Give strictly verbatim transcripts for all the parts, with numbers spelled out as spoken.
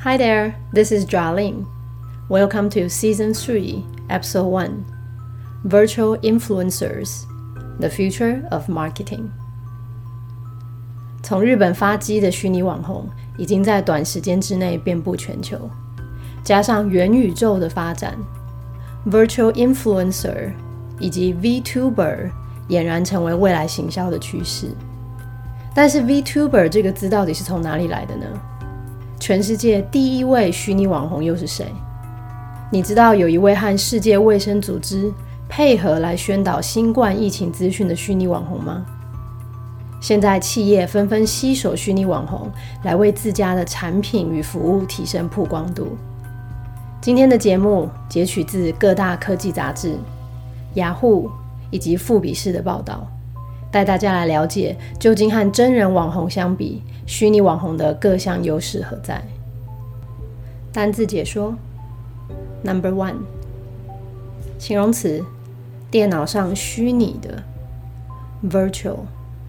Hi there, this is Jialing. Welcome to Season three, Episode one, Virtual Influencers, the Future of Marketing. 从日本发迹的虚拟网红已经在短时间之内遍布全球，加上元宇宙的发展， Virtual Influencer 以及 VTuber 俨然成为未来行销的趋势。但是 VTuber 这个字到底是从哪里来的呢？全世界第一位虚拟网红又是谁？你知道有一位和世界卫生组织配合来宣导新冠疫情资讯的虚拟网红吗？现在企业纷纷携手虚拟网红来为自家的产品与服务提升曝光度。今天的节目截取自各大科技杂志、雅虎以及富比士的报道，带大家来了解究竟和真人网红相比，虚拟网红的各项优势何在。单字解说 Number one， 形容词，电脑上虚拟的 Virtual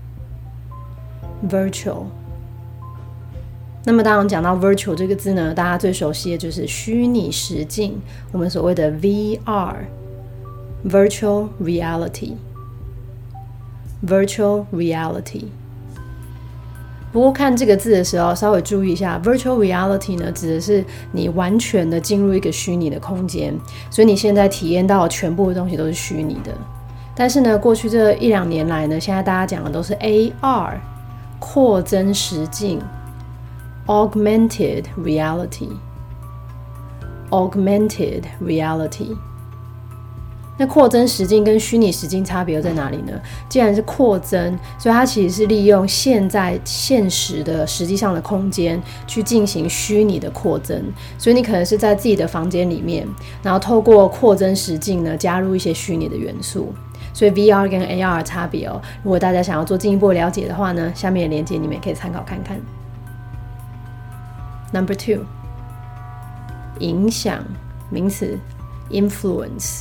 Virtual。 那么当然讲到 Virtual 这个字呢，大家最熟悉的就是虚拟实境，我们所谓的 V R Virtual Reality Virtual Reality。 不过看这个字的时候稍微注意一下， Virtual Reality 呢指的是你完全的进入一个虚拟的空间，所以你现在体验到的全部的东西都是虚拟的。但是呢，过去这一两年来呢，现在大家讲的都是 A R 扩增实境 Augmented Reality Augmented Reality。那扩增实境跟虚拟实境差别又在哪里呢？既然是扩增，所以它其实是利用现在现实的实际上的空间去进行虚拟的扩增，所以你可能是在自己的房间里面，然后透过扩增实境呢加入一些虚拟的元素。所以 V R 跟 A R 的差别哦，如果大家想要做进一步了解的话呢，下面的连结你们也可以参考看看。Number two， 影响，名词 influence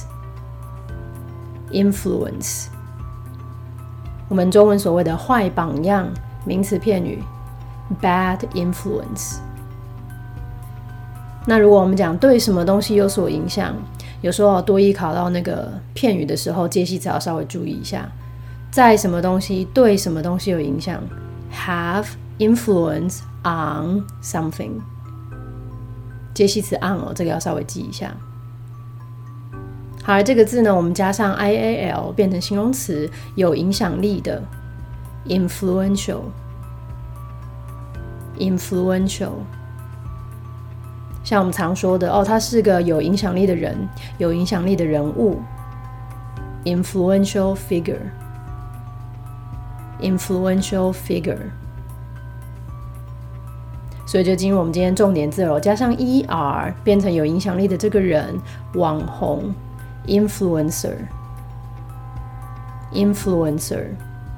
Influence， 我们中文所谓的坏榜样，名词片语 Bad influence。 那如果我们讲对什么东西有所影响，有时候多益考到那个片语的时候，介系词要稍微注意一下，在什么东西对什么东西有影响 Have influence on something， 介系词 on 哦，这个要稍微记一下。好，这个字呢，我们加上 I A L 变成形容词，有影响力的 influential influential。 像我们常说的哦，他是个有影响力的人，有影响力的人物 influential figure influential figure。 所以就进入我们今天重点字了，加上 E R 变成有影响力的这个人，网红Influencer Influencer。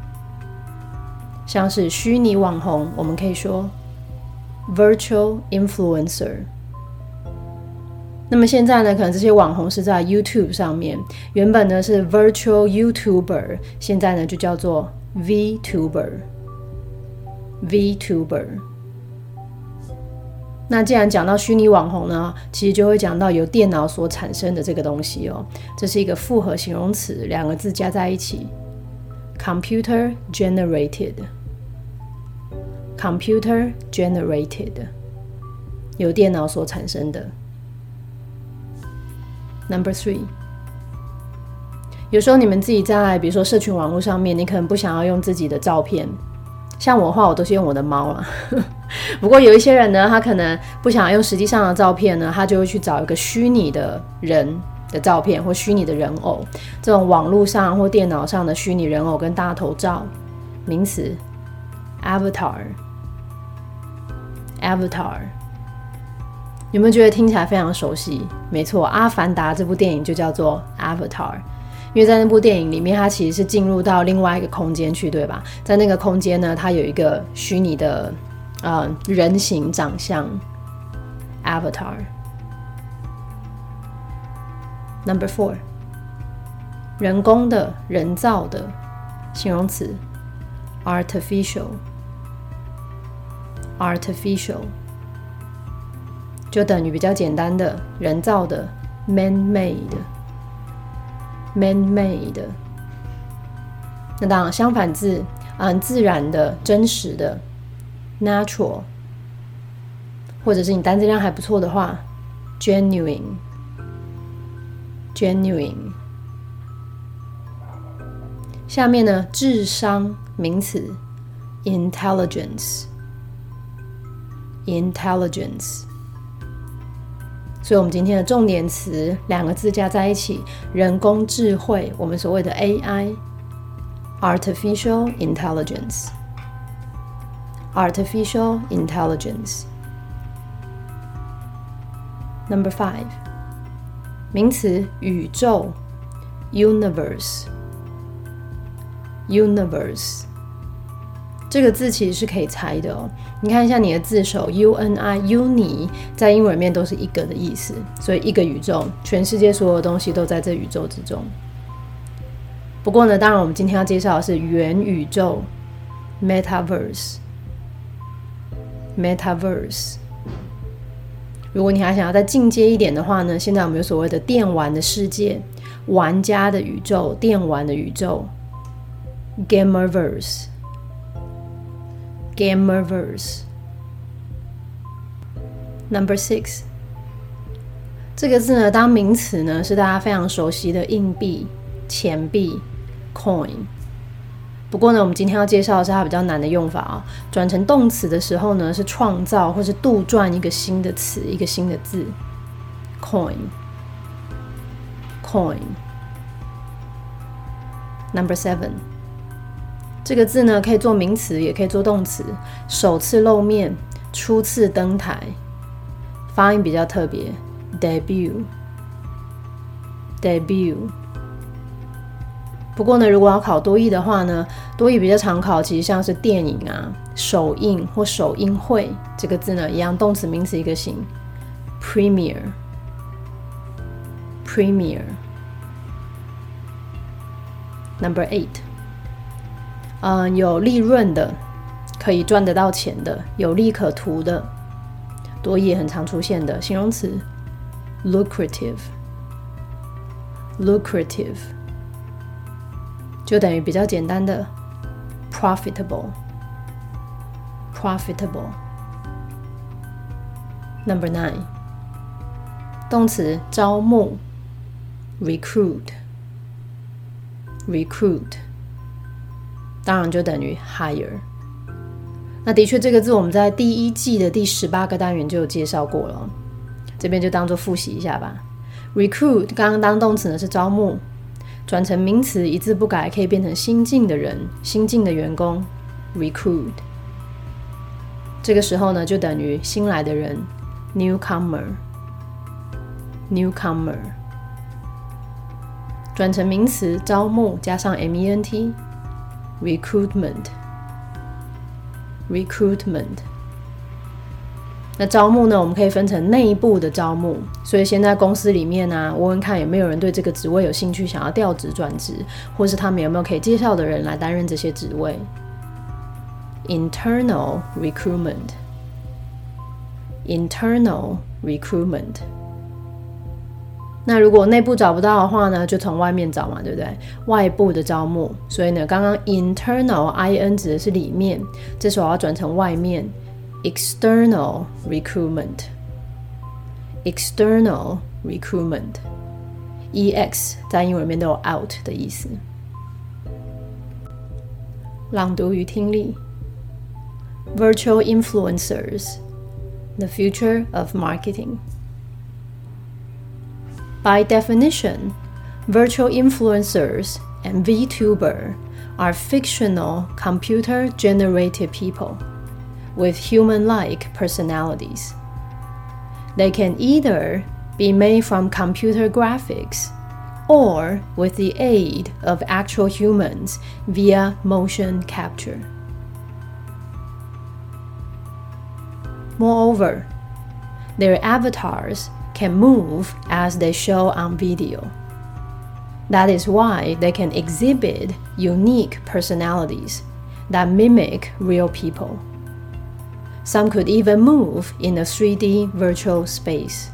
像是虚拟网红，我们可以说 Virtual Influencer。 那么现在呢，可能这些网红是在 YouTube 上面，原本呢是 Virtual YouTuber， 现在呢就叫做 VTuber VTuber。那既然讲到虚拟网红呢，其实就会讲到由电脑所产生的这个东西哦，这是一个复合形容词，两个字加在一起 Computer generated Computer generated， 由电脑所产生的。 Number three， 有时候你们自己在比如说社群网络上面，你可能不想要用自己的照片，像我的话我都是用我的猫啦不过有一些人呢，他可能不想用实际上的照片呢，他就会去找一个虚拟的人的照片或虚拟的人偶，这种网络上或电脑上的虚拟人偶跟大头照，名词 Avatar Avatar。 有没有觉得听起来非常熟悉？没错，《阿凡达》这部电影就叫做 Avatar， 因为在那部电影里面，它其实是进入到另外一个空间去，对吧？在那个空间呢，它有一个虚拟的呃人形长相 Avatar。 Number four， 人工的、人造的，形容词 Artificial Artificial。 就等于比较简单的人造的 man-made man-made。 那当然相反字很自然的真实的 natural， 或者是你单字量还不错的话 genuine genuine。 下面呢智商名词 intelligence intelligence。 所以我们今天的重点词两个字加在一起，人工智慧，我们所谓的 A I artificial intelligence artificial intelligence。 Number five， 名词宇宙 universe universe。 这个字其实是可以猜的哦，你看一下你的字首 U N I uni 在英文里面都是一个的意思，所以一个宇宙，全世界所有的东西都在这宇宙之中。不过呢，当然我们今天要介绍的是元宇宙 metaverse metaverse。 如果你还想要再进阶一点的话呢，现在我们有所谓的电玩的世界，玩家的宇宙，电玩的宇宙 gamerverse gamerverse。 Number six， 这个字呢当名词呢是大家非常熟悉的硬币钱币 coin。 不过呢我们今天要介绍的是它比较难的用法啊、哦，转成动词的时候呢是创造或是杜撰一个新的词，一个新的字 coin coin。 Number seven，这个字呢可以做名词也可以做动词，首次露面，初次登台，发音比较特别 debut debut。 不过呢如果要考多益的话呢，多益比较常考其实像是电影啊首映或首映会，这个字呢一样动词名词一个形 premiere premiere。 Number eight，嗯，有利润的，可以赚得到钱的，有利可图的，多益也很常出现的形容词 lucrative lucrative， 就等于比较简单的 profitable profitable。 Number nine， 动词招募 recruit recruit，当然就等于 hire。 那的确这个字我们在第一季的第十八个单元就有介绍过了，这边就当做复习一下吧。 recruit 刚刚当动词呢是招募，转成名词一字不改可以变成新进的人，新进的员工 recruit。 这个时候呢就等于新来的人 newcomer newcomer。 转成名词招募加上 ment recruitment recruitment。 那招募呢我们可以分成内部的招募，所以现在公司里面啊问问看有没有人对这个职位有兴趣，想要调职转职，或是他们有没有可以介绍的人来担任这些职位 internal recruitment internal recruitment。那如果内部找不到的话呢，就从外面找嘛，对不对？外部的招募，所以呢，刚刚 internal in 指的是里面，这时候要转成外面 external recruitment external recruitment ex 在英文里面都有 out 的意思。朗读与听力 Virtual influencers the future of marketing。By definition, virtual influencers and VTuber are fictional computer-generated people with human-like personalities. They can either be made from computer graphics or with the aid of actual humans via motion capture. Moreover, their avatars can move as they show on video. That is why they can exhibit unique personalities that mimic real people. Some could even move in a three D virtual space.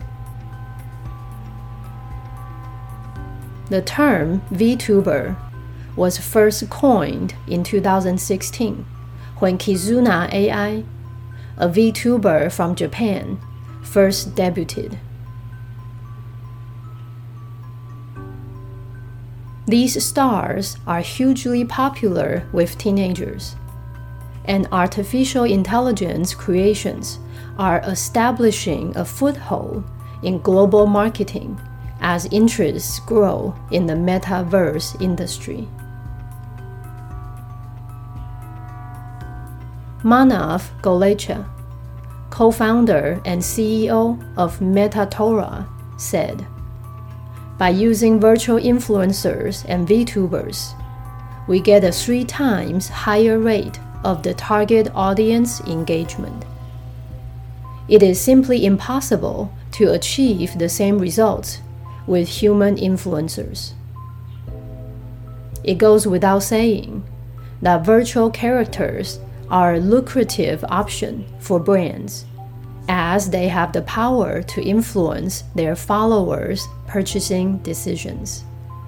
The term VTuber was first coined in two thousand sixteen when Kizuna A I, a VTuber from Japan, first debuted. These stars are hugely popular with teenagers, and artificial intelligence creations are establishing a foothold in global marketing as interests grow in the metaverse industry. Manav Golecha, co-founder and C E O of Metatora, said, "By using virtual influencers and VTubers, we get a three times higher rate of the target audience engagement. It is simply impossible to achieve the same results with human influencers. It goes without saying that virtual characters are a lucrative option for brands, as they have the power to influence their followers' purchasing decisions."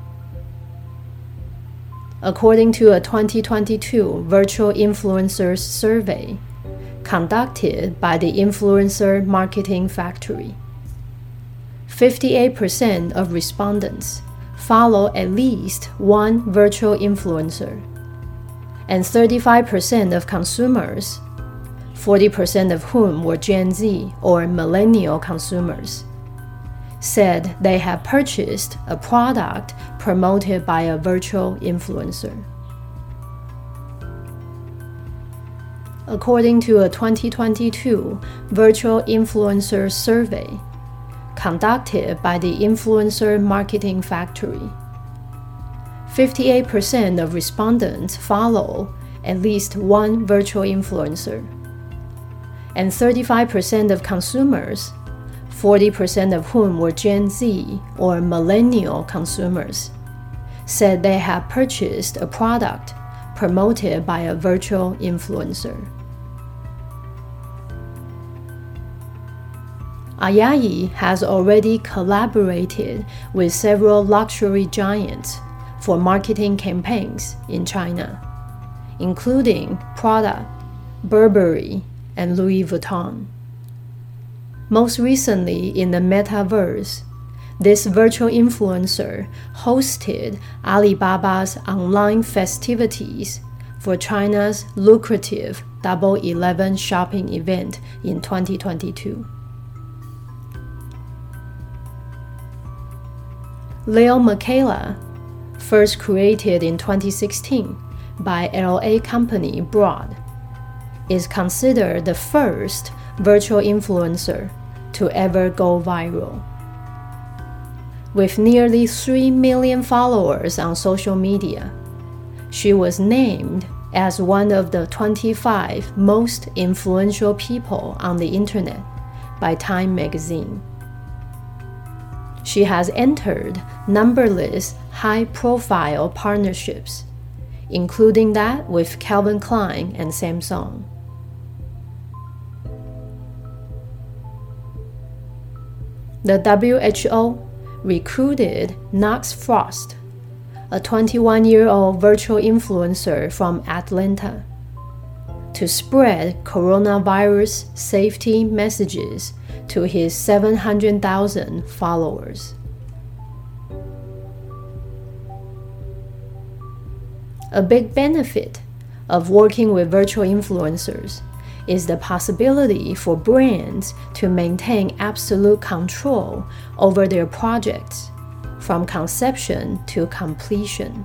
According to a twenty twenty-two Virtual Influencers survey conducted by the Influencer Marketing Factory, fifty-eight percent of respondents follow at least one virtual influencer, and thirty-five percent of consumers, forty percent of whom were Gen Z or millennial consumers, said they have purchased a product promoted by a virtual influencer. According to a twenty twenty-two Virtual Influencers survey conducted by the Influencer Marketing Factory, fifty-eight percent of respondents follow at least one virtual influencer, and thirty-five percent of consumers, forty percent of whom were Gen Z or millennial consumers, said they have purchased a product promoted by a virtual influencer. Ayayi has already collaborated with several luxury giants for marketing campaigns in China, including Prada, Burberry, and Louis Vuitton. Most recently, in the metaverse, this virtual influencer hosted Alibaba's online festivities for China's lucrative Double eleven shopping event in twenty twenty-two. Leo Michaela, first created in twenty sixteen by L A company Broad, is considered the first virtual influencer to ever go viral. With nearly three million followers on social media, she was named as one of the twenty-five most influential people on the internet by Time magazine. She has entered numberless high-profile partnerships, including that with Calvin Klein and Samsung. The W H O recruited Knox Frost, a twenty-one-year-old virtual influencer from Atlanta, to spread coronavirus safety messages to his seven hundred thousand followers. A big benefit of working with virtual influencers is the possibility for brands to maintain absolute control over their projects from conception to completion.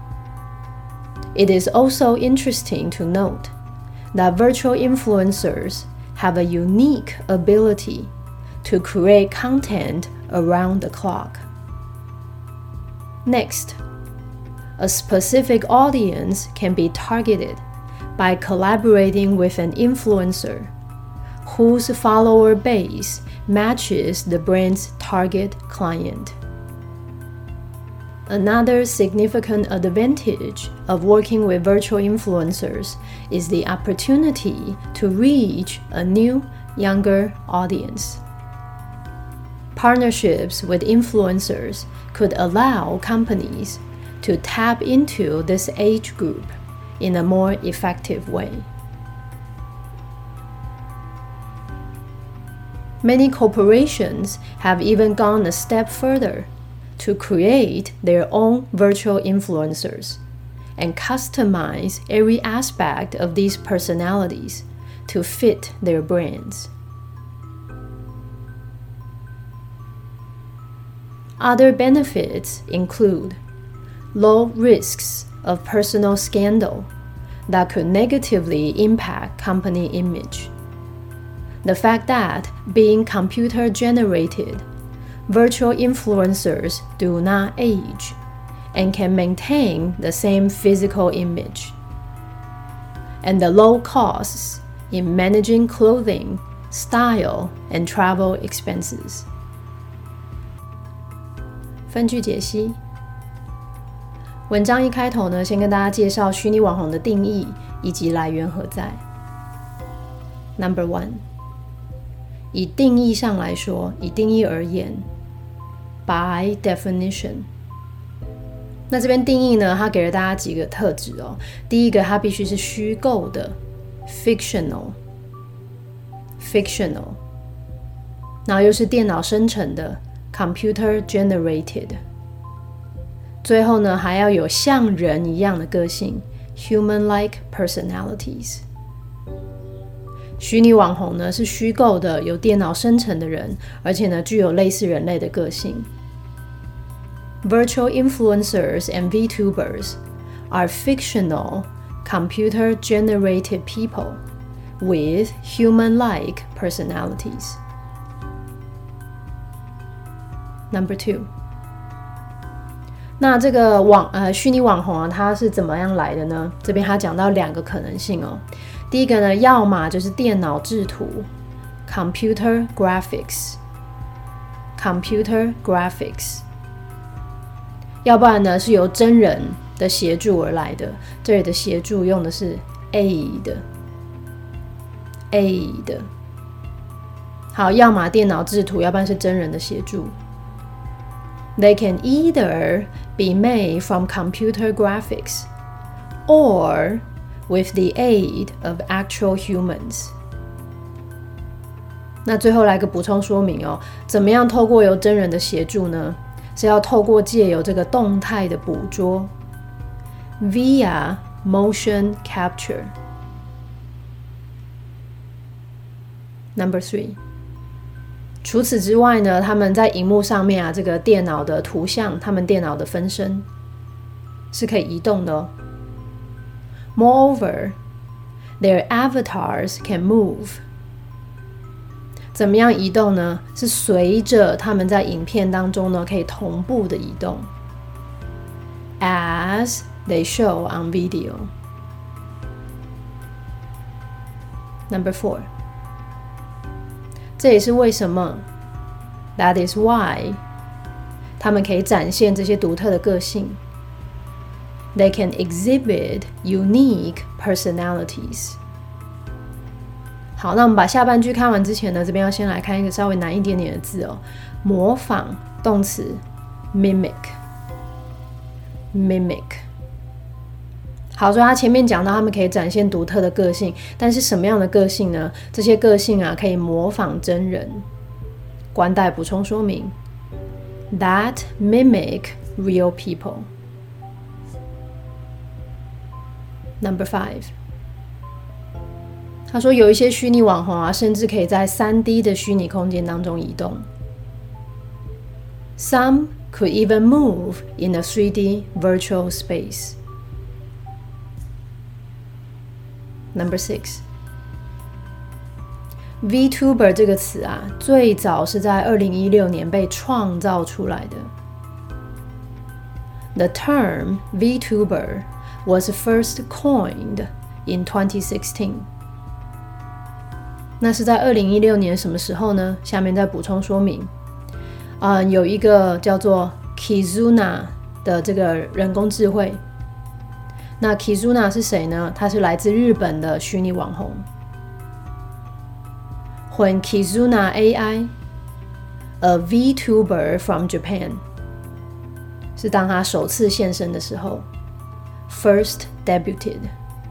It is also interesting to note that virtual influencers have a unique ability to create content around the clock. Next, a specific audience can be targeted by collaborating with an influencer whose follower base matches the brand's target client. Another significant advantage of working with virtual influencers is the opportunity to reach a new, younger audience. Partnerships with influencers could allow companies to tap into this age group in a more effective way. Many corporations have even gone a step further to create their own virtual influencers and customize every aspect of these personalities to fit their brands. Other benefits include low risks of personal scandal that could negatively impact company image. The fact that, being computer-generated, virtual influencers do not age and can maintain the same physical image. And the low costs in managing clothing, style, and travel expenses. 分句解析。文章一开头呢，先跟大家介绍虚拟网红的定义以及来源何在。Number one， 以定义上来说，以定义而言 ，by definition。那这边定义呢，它给了大家几个特质哦。第一个，它必须是虚构的 ，fictional，fictional， 然后又是电脑生成的 ，computer generated。最后呢，还要有像人一样的个性 ，human-like personalities。虚拟网红呢是虚构的，由电脑生成的人，而且呢具有类似人类的个性。Virtual influencers and VTubers are fictional, computer-generated people with human-like personalities. Number two. 那这个网呃虚拟网红啊，它是怎么样来的呢？这边他讲到两个可能性哦。第一个呢，要么就是电脑制图 （computer graphics），computer graphics， 要不然呢是由真人的协助而来的。这里的协助用的是 aid，aid。好，要么电脑制图，要不然是真人的协助。They can either be made from computer graphics or with the aid of actual humans. 那最后来个补充说明哦，怎么样透过由真人的协助呢？是要透过借由这个动态的捕捉 via motion capture. Number three. 除此之外呢，他们在荧幕上面啊，这个电脑的图像，他们电脑的分身是可以移动的哦。Moreover, their avatars can move. 怎么样移动呢？是随着他们在影片当中呢，可以同步的移动 ，as they show on video. Number four. 这也是为什么 That is why 他们可以展现这些独特的个性 They can exhibit unique personalities. 好，那我们把下半句看完之前呢，这边要先来看一个稍微难一点点的字哦。模仿动词 mimic mimic。好，所以他前面讲到他们可以展现独特的个性，但是什么样的个性呢？这些个性啊，可以模仿真人。关带补充说明 ，that mimic real people. Number five. 他说有一些虚拟网红啊，甚至可以在 三 D 的虚拟空间当中移动。Some could even move in a three D virtual space. Number six. VTuber 这个词啊，最早是在二零一六年被创造出来的。The term VTuber was first coined in twenty sixteen. 那是在二零一六年什么时候呢？下面再补充说明。嗯，有一个叫做 Kizuna 的的这个人工智慧。那 Kizuna 是谁呢？他是来自日本的虚拟网红。When Kizuna A I, a VTuber from Japan, 是当他首次现身的时候 ，first debuted。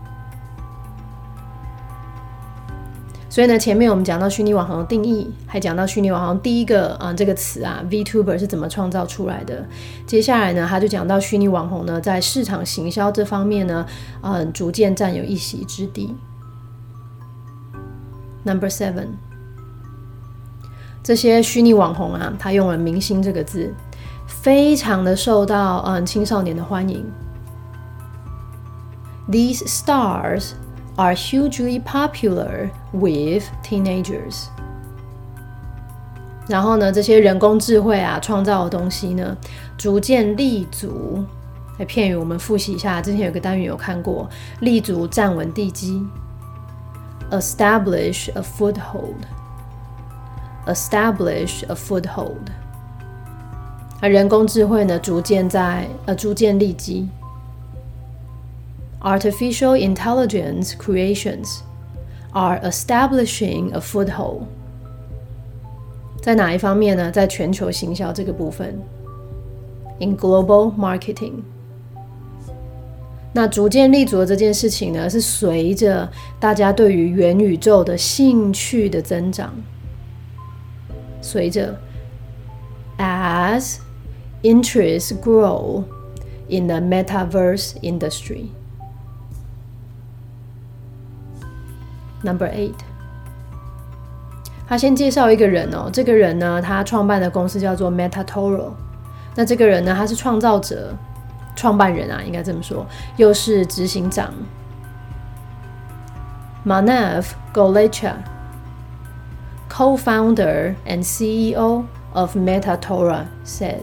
所以呢，前面我们讲到虚拟网红的定义，还讲到虚拟网红第一个啊、呃、这个词啊 VTuber 是怎么创造出来的。接下来呢，他就讲到虚拟网红呢在市场行销这方面呢，嗯、呃，逐渐占有一席之地。Number seven， 这些虚拟网红啊，他用了明星这个字，非常的受到嗯青少年的欢迎。These stars are hugely popular with teenagers. 然后呢，这些人工智慧啊创造的东西呢，逐渐立足。在片语我们复习一下，之前有个单元有看过，立足站稳地基 ，establish a foothold，establish a foothold。而人工智慧呢，逐渐在呃逐渐立基。Artificial intelligence creations are establishing a foothold. 在哪一方面呢？在全球行销这个部分 ，in global marketing。那逐渐立足的这件事情呢，是随着大家对于元宇宙的兴趣的增长，随着 as interests grow in the metaverse industry。Number eight， 他先介绍一个人哦，这个人呢，他创办的公司叫做 MetaToro。那这个人呢，他是创造者、创办人啊，应该这么说，又是执行长 Manav Golechha, co-founder and C E O of MetaToro said。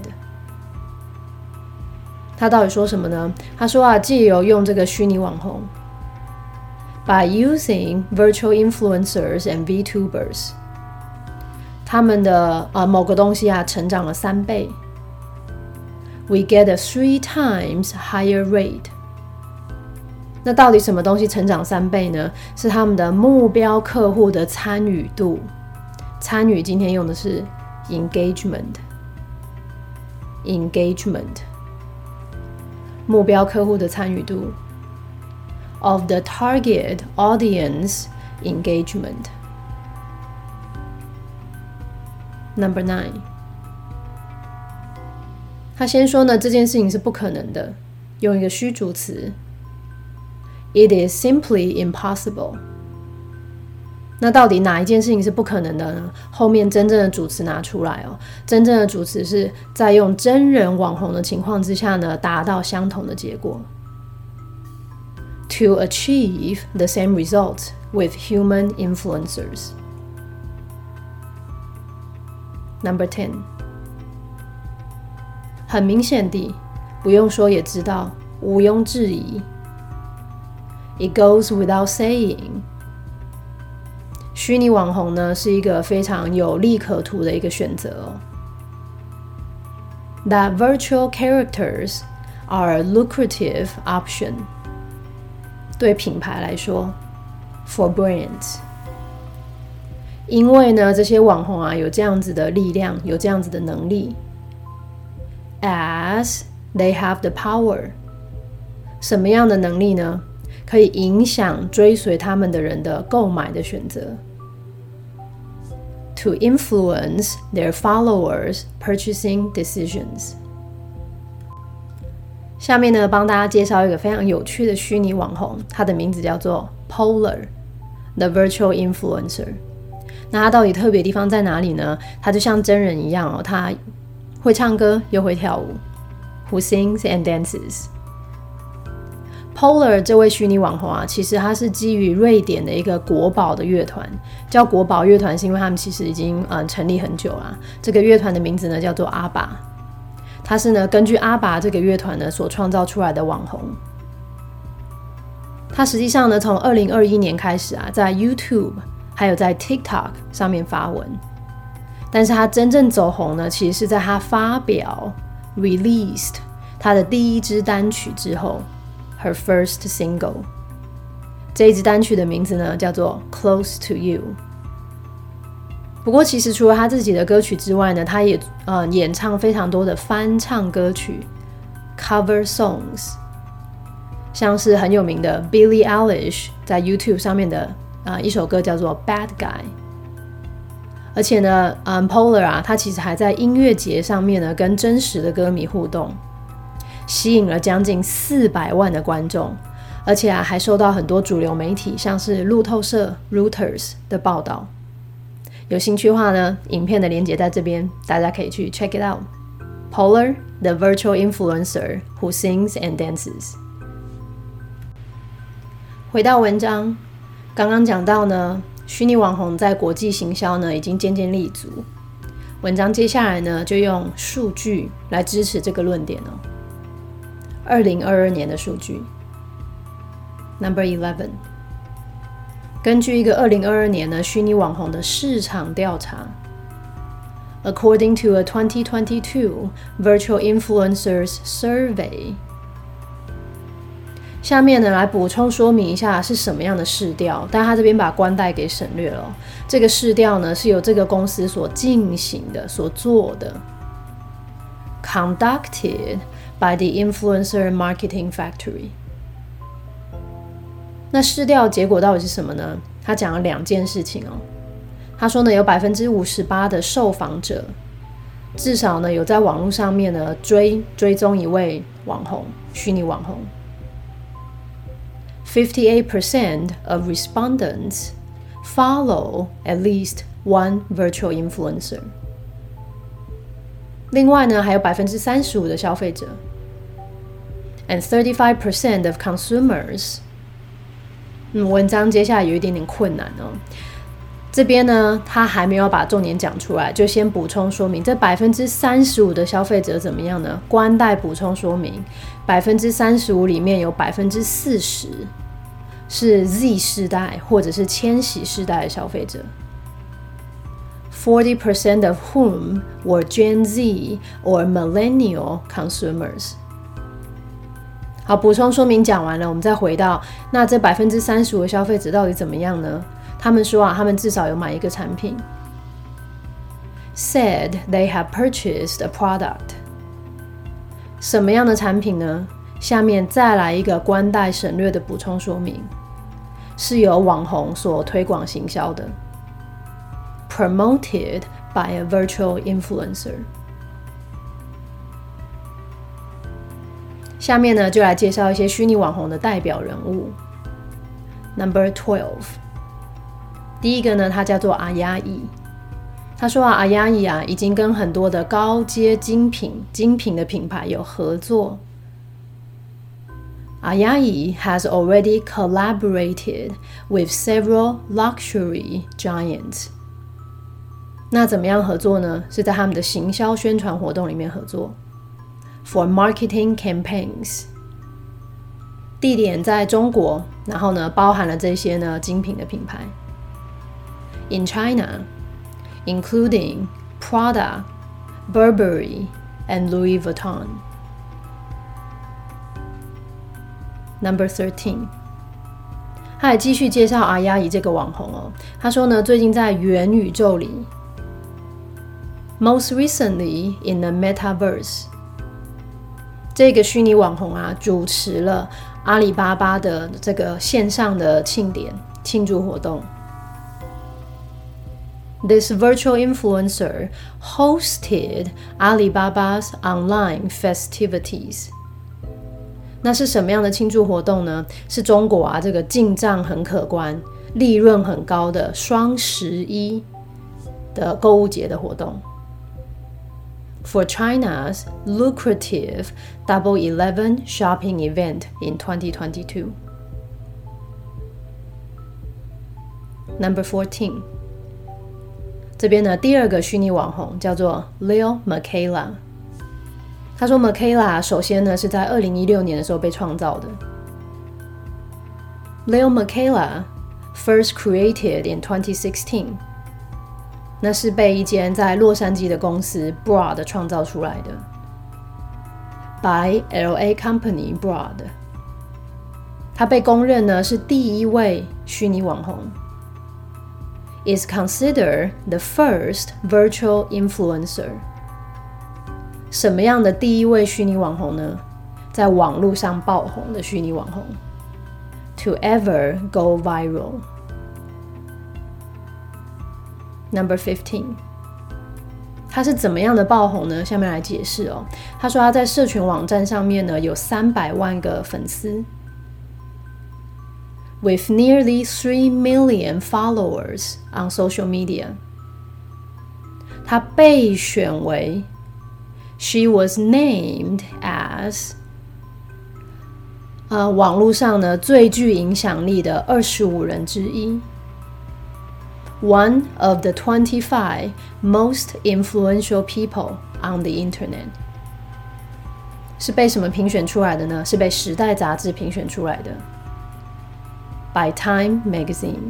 他到底说什么呢？他说啊，藉由用这个虚拟网红。By using virtual influencers and VTubers， 他们的、呃、某个东西啊成长了三倍。We get a three times higher rate。那到底什么东西成长三倍呢？是他们的目标客户的参与度。参与今天用的是 engagement，engagement， 目标客户的参与度。Of the target audience engagement. Number nine， 他先说呢，这件事情是不可能的，用一个虚主词 ，It is simply impossible。那到底哪一件事情是不可能的呢？后面真正的主词拿出来哦，真正的主词是在用真人网红的情况之下呢，达到相同的结果。To achieve the same result with human influencers. Number ten， 很明显地，不用说也知道，毋庸置疑。It goes without saying。虚拟网红呢，是一个非常有利可图的一个选择哦。That virtual characters are a lucrative option。对品牌来说 ，for brands， 因为呢，这些网红啊有这样子的力量，有这样子的能力 ，as they have the power， 什么样的能力呢？可以影响追随他们的人的购买的选择 ，to influence their followers' purchasing decisions。下面呢，帮大家介绍一个非常有趣的虚拟网红，他的名字叫做 Polar，the virtual influencer。那他到底特别的地方在哪里呢？他就像真人一样哦，他会唱歌又会跳舞 ，who sings and dances。Polar 这位虚拟网红啊，其实他是基于瑞典的一个国宝的乐团，叫国宝乐团，是因为他们其实已经呃成立很久了。这个乐团的名字呢叫做阿爸。他是呢根据阿爸这个乐团呢所创造出来的网红。他实际上呢从二零二一年开始啊，在 YouTube 还有在 TikTok 上面发文，但是他真正走红呢，其实是在他发表 released 她的第一支单曲之后 ，her first single。这一支单曲的名字呢叫做 Close to You。不过其实除了她自己的歌曲之外呢，她也呃演唱非常多的翻唱歌曲 ，cover songs。像是很有名的 Billie Eilish 在 YouTube 上面的、呃、一首歌叫做 Bad Guy。而且呢、嗯、Polar 啊，他其实还在音乐节上面呢跟真实的歌迷互动，吸引了将近四百万的观众，而且啊还受到很多主流媒体像是路透社 Reuters 的报道。有兴趣的话呢，影片的连结在这边，大家可以去 check it out。 Polar, the virtual influencer who sings and dances。 回到文章，刚刚讲到呢，虚拟网红在国际行销呢已经渐渐立足。文章接下来呢就用数据来支持这个论点哦。二零二二年的数据 ，Number eleven。根据一个二零二二年呢虚拟网红的市场调查 ，According to a twenty twenty-two virtual influencers survey。下面呢来补充说明一下是什么样的市调，但他这边把关代给省略了。这个市调呢是由这个公司所进行的、所做的 ，conducted by the influencer marketing factory。那市调结果到底是什么呢？他讲了两件事情哦。他说呢，有百分之五十八的受访者至少呢有在网络上面呢追追踪一位网红、虚拟网红。fifty-eight percent of respondents follow at least one virtual influencer。另外呢，还有百分之三十五的消费者 ，and thirty-five percent of consumers。嗯，文章接下来有一点点困难哦。这边呢，他还没有把重点讲出来，就先补充说明，这百分之三十五的消费者怎么样呢？关代补充说明，百分之三十五里面有百分之四十是 Z 世代或者是千禧世代的消费者 ，forty percent of whom were Gen Z or millennial consumers。好，补充说明讲完了，我们再回到那这百分之三十五的消费者到底怎么样呢？他们说啊，他们至少有买一个产品。Said they have purchased a product。什么样的产品呢？下面再来一个关代省略的补充说明，是由网红所推广行销的 ，promoted by a virtual influencer。下面呢，就来介绍一些虚拟网红的代表人物。Number twelve。第一个呢，他叫做阿亚伊。他说啊，阿亚伊啊，已经跟很多的高阶精品、精品的品牌有合作。阿亚伊 has already collaborated with several luxury giants。那怎么样合作呢？是在他们的行销宣传活动里面合作。For marketing campaigns。地点在中国，然后呢，包含了这些呢精品的品牌。In China, including Prada, Burberry, and Louis Vuitton. Number thirteen. 他还继续介绍阿亚伊这个网红哦。他说呢，最近在元宇宙里 ，most recently in the metaverse， 这个虚拟网红啊，主持了阿里巴巴的这个线上的庆典庆祝活动。This virtual influencer hosted Alibaba's online festivities. 那是什么样的庆祝活动呢？是中国啊这个进账很可观、利润很高的双十一的购物节的活动。For China's lucrative Double Eleven shopping event in twenty twenty-two. Number fourteen. 这边呢，第二个虚拟网红叫做 Lil Miquela。他说 Miquela 首先呢是在二零一六年的时候被创造的。Lil Miquela first created in twenty sixteen。那是被一间在洛杉矶的公司 Broad 创造出来的。 by L A company Broad。他被公认呢是第一位虚拟网红。Is considered the first virtual influencer。什么样的第一位虚拟网红呢？在网络上爆红的虚拟网红。To ever go viral。Number fifteen。他是怎么样的爆红呢？下面来解释哦。他说他在社群网站上面呢有三百万个粉丝 ，with nearly three million followers on social media。他被选为 ，she was named as， 呃，网络上呢最具影响力的二十五人之一。One of the twenty-five most influential people on the internet。 是被什么评选出来的呢？是被时代杂志评选出来的 by Time Magazine。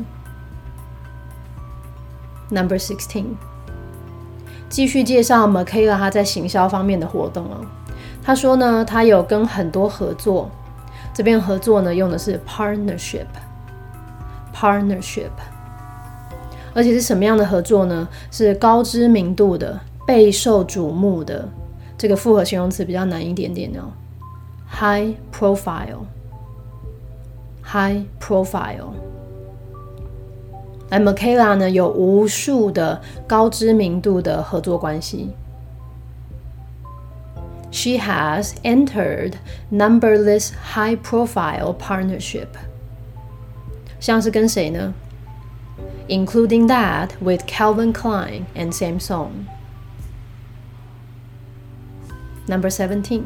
Number sixteen。 继续介绍 Michaela 她在行销方面的活动哦。她说呢，她有跟很多合作，这边合作呢用的是 partnership partnership。而且是什么样的合作呢？是高知名度的、备受瞩目的，这个复合形容词比较难一点点哦。High profile， high profile。而 Michaela 呢有无数的高知名度的合作关系。She has entered numberless high-profile partnership。像是跟谁呢？Including that with Calvin Klein and Samsung. Number seventeen.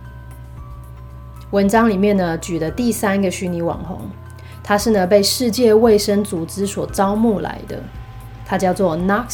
文章里面呢举的第三个虚拟网红，他是呢被世界卫生组织所招募来的，他叫做 Knox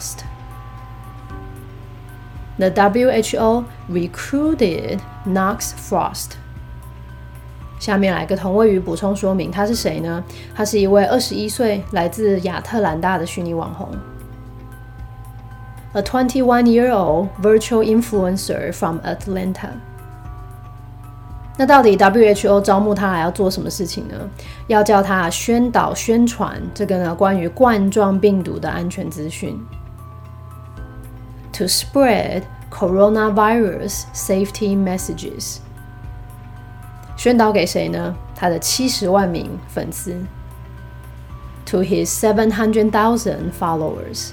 Frost。The W H O recruited Knox Frost。下面来个同位语补充说明，他是谁呢？他是一位二十一岁来自亚特兰大的虚拟网红。A twenty-one-year-old virtual influencer from Atlanta。那到底 W H O 招募他来要做什么事情呢？要叫他宣导宣传这个呢关于冠状病毒的安全资讯。To spread coronavirus safety messages。宣导给谁呢？他的七十万名粉丝 ，to his seven hundred thousand followers。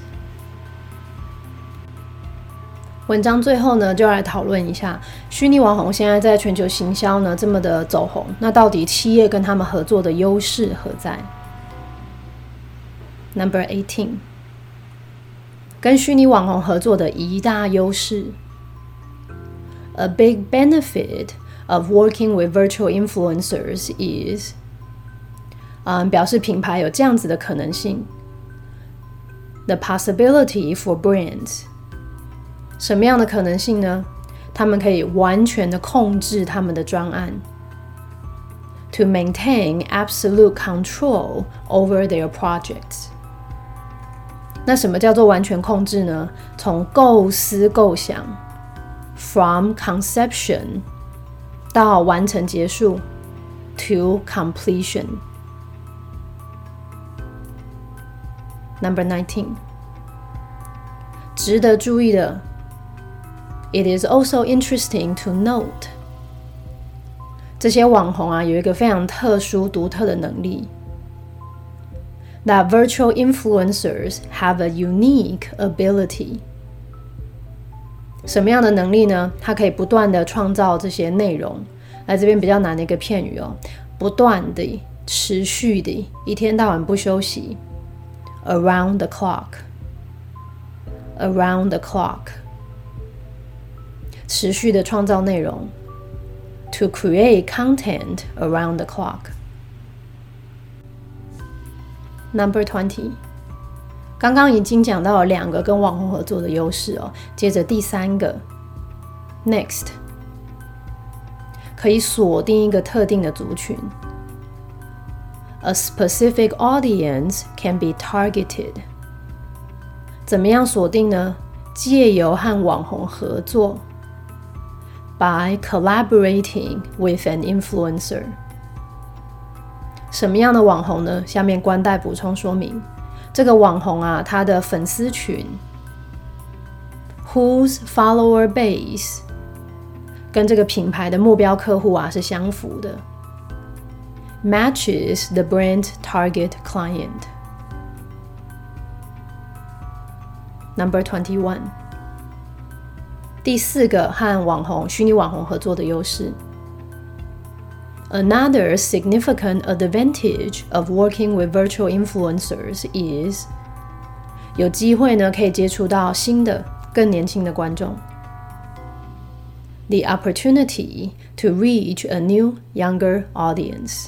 文章最后呢，就来讨论一下虚拟网红现在在全球行销呢这么的走红，那到底企业跟他们合作的优势何在 ？Number eighteen， 跟虚拟网红合作的一大优势 ，a big benefit。of working with virtual influencers is， 嗯，表示品牌有这样子的可能性 ，the possibility for brands， 什么样的可能性呢？他们可以完全的控制他们的专案 ，to maintain absolute control over their projects。那什么叫做完全控制呢？从构思构想 ，from conception。到完成结束 to completion。 Number nineteen， 值得注意的 It is also interesting to note， 这些网红啊有一个非常特殊独特的能力 That virtual influencers have a unique ability。什么样的能力呢？它可以不断的创造这些内容。来这边比较难的一个片语哦，不断的、持续的，一天到晚不休息。Around the clock， around the clock， 持续的创造内容。To create content around the clock。Number twenty。刚刚已经讲到了两个跟网红合作的优势哦，接着第三个 ，next， 可以锁定一个特定的族群 ，a specific audience can be targeted。怎么样锁定呢？借由和网红合作 by collaborating with an influencer。什么样的网红呢？下面官带补充说明。这个网红啊，他的粉丝群 whose follower base 跟这个品牌的目标客户啊是相符的 matches the brand target client。 Number twenty-one， 第四个和网红虚拟网红合作的优势。Another significant advantage of working with virtual influencers is 有机会呢可以接触到新的更年轻的观众 The opportunity to reach a new younger audience。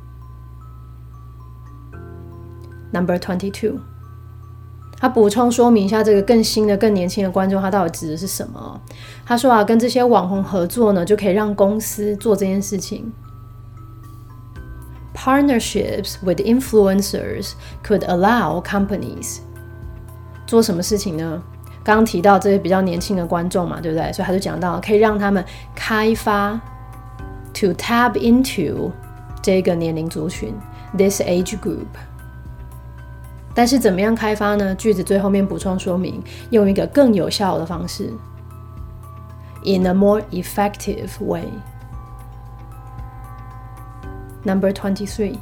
Number twenty-two， 他补充说明一下这个更新的更年轻的观众他到底指的是什么。他说啊，跟这些网红合作呢就可以让公司做这件事情。Partnerships with influencers could allow companies 做什么事情呢？刚刚提到这些比较年轻的观众嘛，对不对？所以他就讲到可以让他们开发 to tap into 这个年龄族群 this age group。 但是怎么样开发呢？句子最后面补充说明，用一个更有效的方式 in a more effective way。Number twenty-three，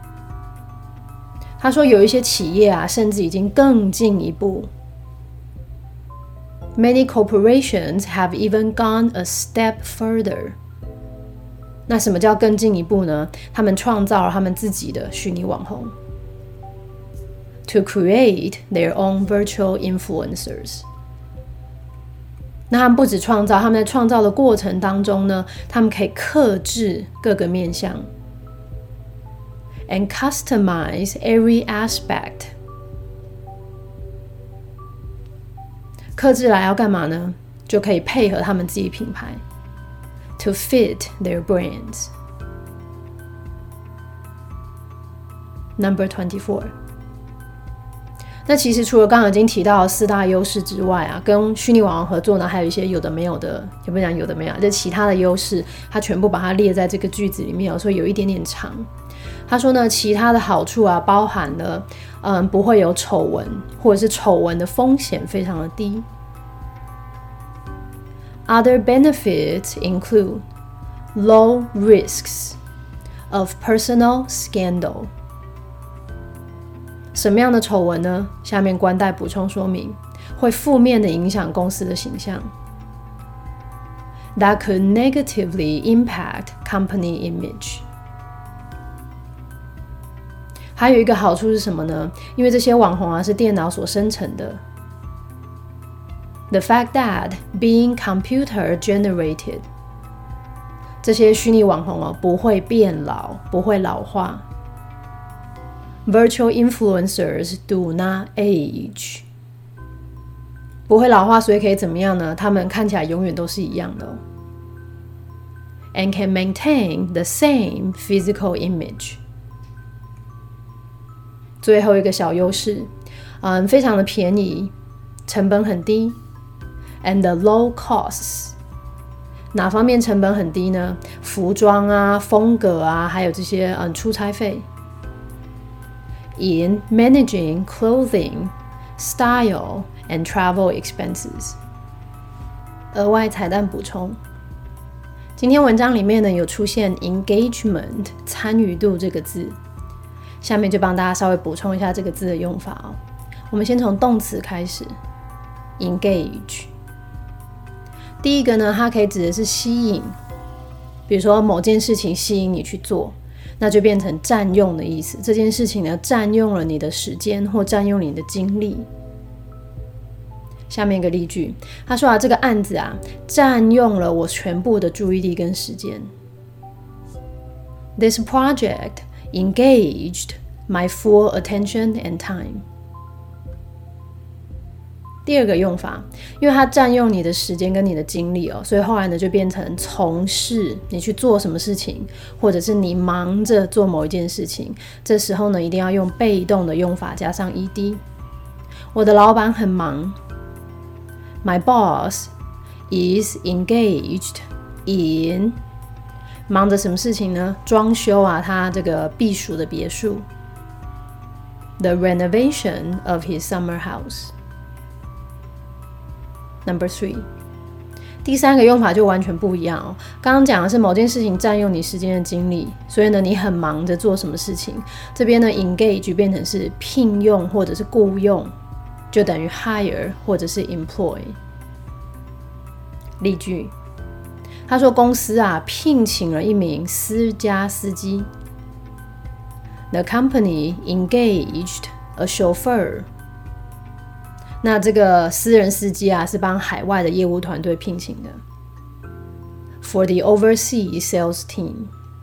他说有一些企业啊，甚至已经更进一步。Many corporations have even gone a step further。那什么叫更进一步呢？他们创造了他们自己的虚拟网红 ，to create their own virtual influencers。那他们不止创造，他们在创造的过程当中呢，他们可以客制各个面向。And customize every aspect。 客制来要干嘛呢？就可以配合他们自己品牌 to fit their brands。 Number twenty-four， 那其实除了刚刚已经提到的四大优势之外啊，跟虚拟网红合作呢，还有一些有的没有的，也不讲有的没有，就其他的优势，它全部把它列在这个句子里面，所以有一点点长。他说呢，其他的好处啊，包含了，嗯，不会有丑闻，或者是丑闻的风险非常的低。Other benefits include low risks of personal scandal。什么样的丑闻呢？下面官带补充说明，会负面的影响公司的形象。That could negatively impact company image。还有一个好处是什么呢？因为这些网红啊是电脑所生成的。The fact that being computer generated， 这些虚拟网红哦不会变老，不会老化。Virtual influencers do not age， 不会老化，所以可以怎么样呢？他们看起来永远都是一样的哦。And can maintain the same physical image。最后一个小优势，嗯，非常的便宜，成本很低 ，and the low costs。哪方面成本很低呢？服装啊、风格啊，还有这些嗯出差费。In managing clothing, style, and travel expenses。额外彩蛋补充，今天文章里面呢有出现 engagement 参与度这个字。下面就帮大家稍微补充一下这个字的用法哦。我们先从动词开始 ，engage。第一个呢，它可以指的是吸引，比如说某件事情吸引你去做，那就变成占用的意思。这件事情呢，占用了你的时间或占用你的精力。下面一个例句，他说啊，这个案子啊，占用了我全部的注意力跟时间。This project engaged my full attention and time。 第二个用法，因为它占用你的时间跟你的精力哦，所以后来呢就变成从事，你去做什么事情，或者是你忙着做某一件事情，这时候呢一定要用被动的用法加上 ed。 我的老板很忙， My boss is engaged in， 忙着什么事情呢？装修啊，他这个避暑的别墅。The renovation of his summer house. Number three. 第三个用法就完全不一样哦。刚刚讲的是某件事情占用你时间的精力，所以呢，你很忙着做什么事情。这边呢 ，engage 变成是聘用或者是雇用，就等于 hire 或者是 employ。例句，他说公司啊聘请了一名私家司机。The company engaged a chauffeur. 那这个私人司机啊，是帮海外的业务团队聘请的。For the overseas sales team.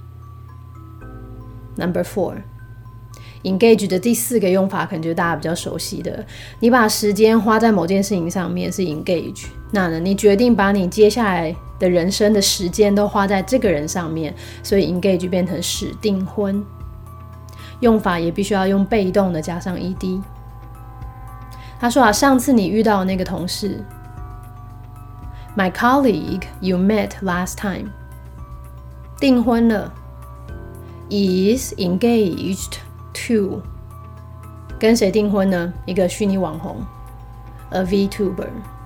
Number four. Engage 的第四个用法，可能就是大家比较熟悉的。你把时间花在某件事情上面是 engage。那呢，你决定把你接下来的人生的时间都花在这个人上面，所以 engage 变成使订婚。用法也必须要用被动的加上 ed。他说啊，上次你遇到的那个同事 My colleague you met last time 订婚了 is engaged to 跟谁订婚呢？一个虚拟网红 A VTuber。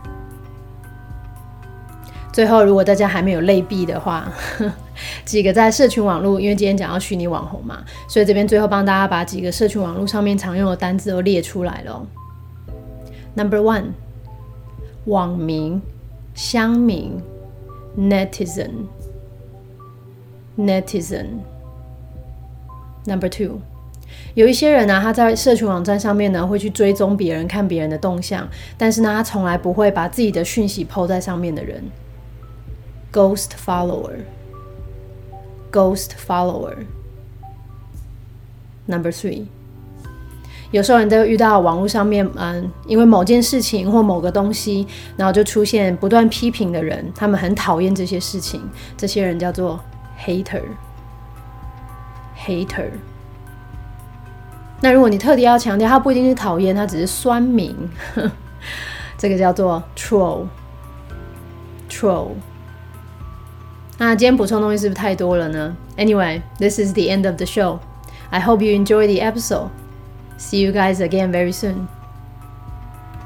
最后如果大家还没有类比的话几个在社群网络，因为今天讲到虚拟网红嘛，所以这边最后帮大家把几个社群网络上面常用的单字都列出来了哦。Number one， 网民、乡民 netizen netizen。 Number two， 有一些人呢、啊，他在社群网站上面呢会去追踪别人，看别人的动向，但是呢他从来不会把自己的讯息 po 在上面的人 ghost follower ghost follower。 Number three，有时候你都会遇到网络上面，嗯，因为某件事情或某个东西，然后就出现不断批评的人，他们很讨厌这些事情，这些人叫做 hater hater。那如果你特地要强调，他不一定是讨厌，他只是酸民，这个叫做 troll troll。那今天补充东西是不是太多了呢？ Anyway, this is the end of the show. I hope you enjoy the episode.See you guys again very soon.